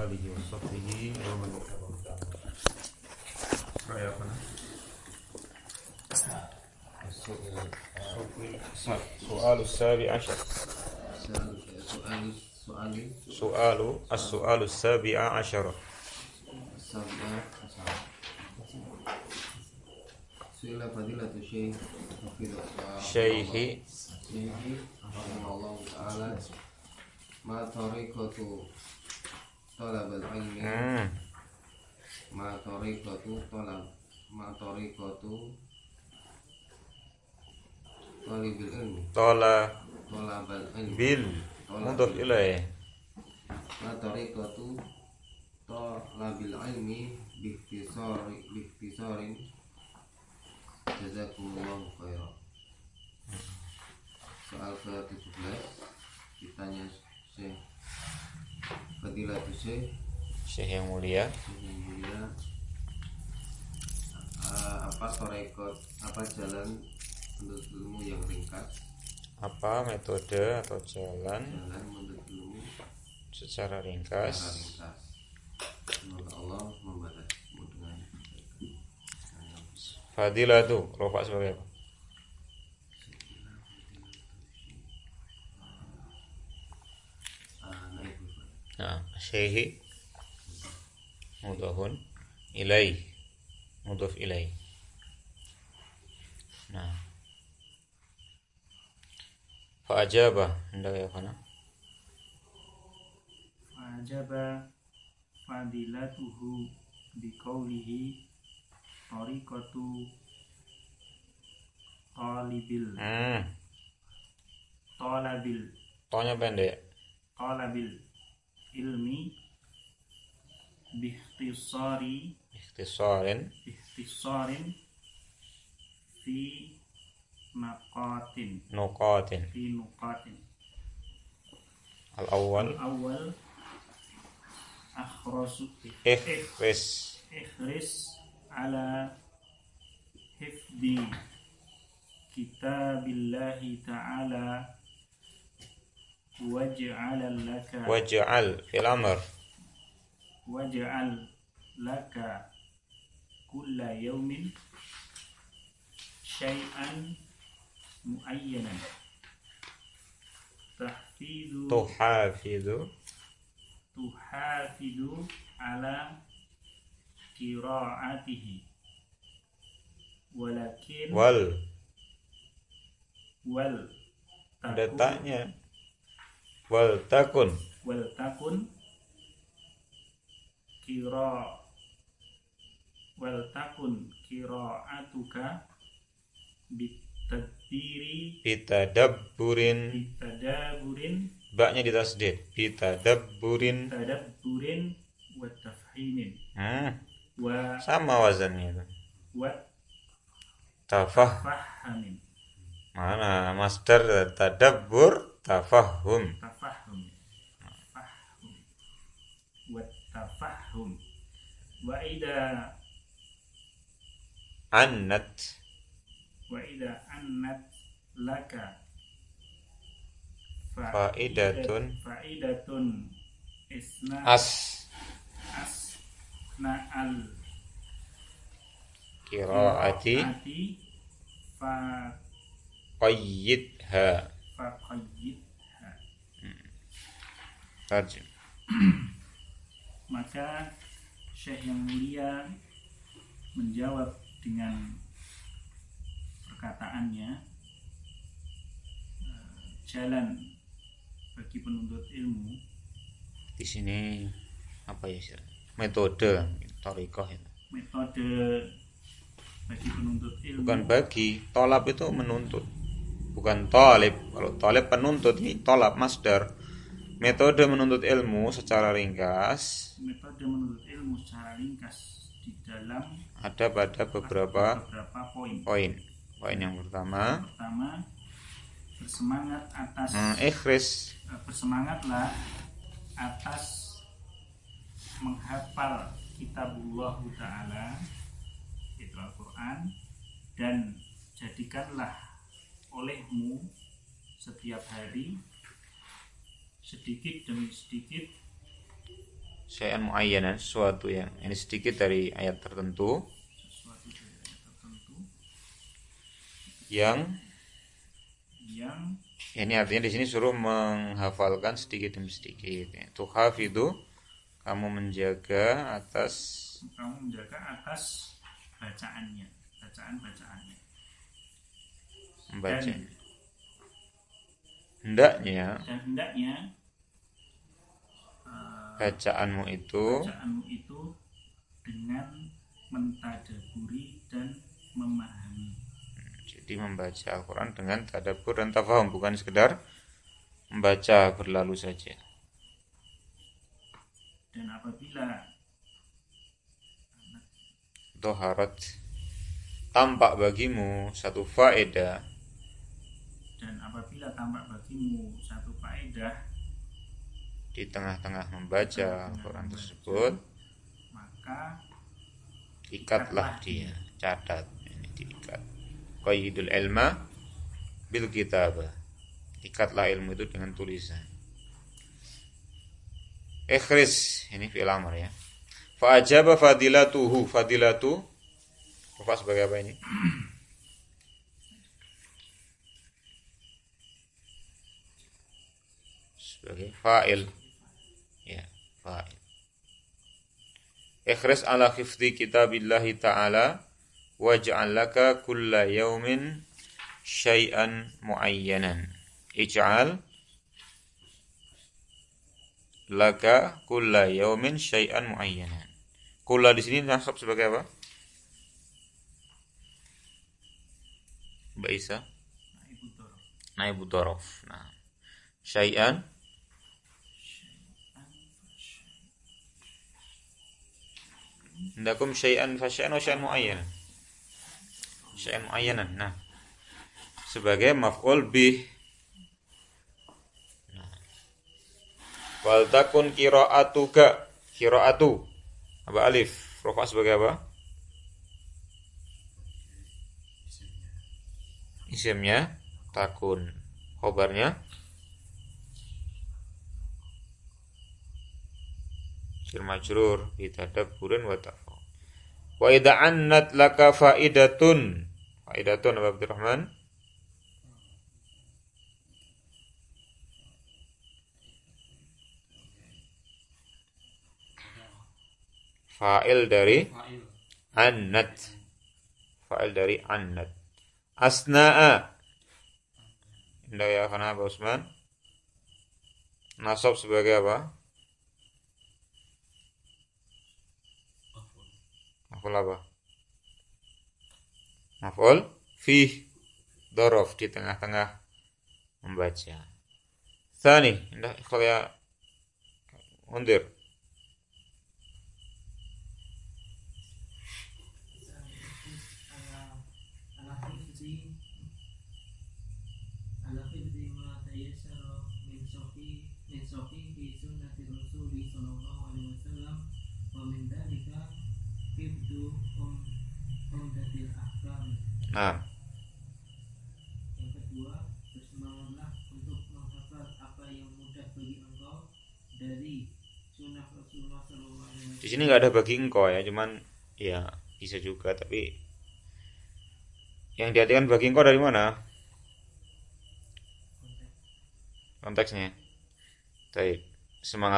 آله وصحبه ومن تبعهم. رأيكم؟ السؤال السابع عشر. السؤال السابع عشر. سئل فضيلة الشيخ شيخ رحمه الله تعالى ما طريقة طلب العلم ما طريقة طالب العلم طلب العلم بال مضاف إليه. ما طريقة طلب العلم باختصار jazakumullahu khairan. Soal ke-17 ditanya Syekh Fadilatul Syekh yang mulia, apa jalan menuntut ilmu yang ringkas? apa metode atau jalan menuntut ilmu secara ringkas? Semoga Allah membalasmu dengan Fadilah itu rofa sebagai apa? Nah, syekh mudhafun ilaih, mudhaf ilaih. Nah, fa ajaba hendak ya kana? Fa ajaba fadilatuhu biqaulihi tariqatu Tonya pendek. talabil ilmi Ikhtisarin fi nuqatin. Al-awwal ikhris ala hifdi kitabillahi ta'ala waj'al fil amr waj'al laka kulla yawmin syai'an muayyanan tuhafidu ala qiraatihi walakin ada taknya wal takun qiraatuka bitadabburin baknya ditasdid bitadabburin wa tafhimin sama wazannya itu wa tafahamin. Mana masdar tadabbur tafahum wa tafahum wa ida annat laka faidatun isna al qiraati fa qayyidha tarjim. Maka Syekh yang mulia menjawab dengan perkataannya, jalan bagi penuntut ilmu di sini apa ya sih? Metode thariqah itu. Metode bagi penuntut ilmu. Bukan bagi, tolab itu menuntut. Bukan talib. Kalau talib penuntut, ini tolab masdar. Metode menuntut ilmu secara ringkas. Metode menuntut ilmu secara ringkas di dalam ada pada beberapa poin. Poin yang pertama bersemangat atas bersemangatlah atas menghafal kitabullah ta'ala, itu Al-Quran, dan jadikanlah olehmu setiap hari sedikit demi sedikit syai'an muayyanan, sesuatu yang ini sedikit dari ayat tertentu sesuatu dari ayat tertentu yang ini artinya di sini suruh menghafalkan sedikit demi sedikit. Itu hafidhu, kamu menjaga atas bacaannya, bacaan-bacaannya. Membaca. Dan hendaknya bacaanmu itu dengan mentadaburi dan memahami. Jadi membaca Al-Quran dengan tadabbur dan tafahum, bukan sekedar membaca berlalu saja. Dan apabila Dhaharat, tampak bagimu satu faedah, di tengah-tengah membaca Al-Quran tersebut, maka ikatlah dia, catat, ini diikat. Qayyidul ilma bil kitabah, ikatlah ilmu itu dengan tulisan. Ikhris, ini fi'il amr ya. Fa'ajaba fadilatuhu, fadilatu apa sebagai apa ini? Sebagai fa'il. Ya, fa'il. Ikhris ala khifdi kitabillahi ta'ala waj'al laka kulla yawmin syai'an muayyanan. Ij'al laka kulla yawmin syai'an muayyanan. Kulla di sini nasab sebagai apa? Mbak Isa? Naibu dhorof. Nah, syai'an Indakum syai'an fa syai'an wa syai'an muayyanan. Syai'an muayyanan. Nah, sebagai maf'ul bih. Nah. Wal takun qira'atuka, qira'atu. Apa alif? Rafa sebagai apa? Isimnya takun. Khobarnya jar majrur bi tadabburin wa tafahum. Wa idza annat laka faidatun. Faidatun apa Abdurrahman? Fa'il dari annat. Fa'il dari annat. Asna'a. Indah ya kana Pak Usman. Nasab sebagai apa? Maf'ul apa? Maf'ul fi dhorof, di tengah-tengah membaca. Tsani, indah ikhlas ya Mundir. Nah, yang kedua, bersemangatlah untuk menghafal apa yang mudah bagi engkau dari sunnah Rasulullah SAW. Di sini nggak ada bagi engkau ya, cuman ya bisa juga, tapi yang diartikan bagi engkau dari mana? Konteksnya. Baik, semangat.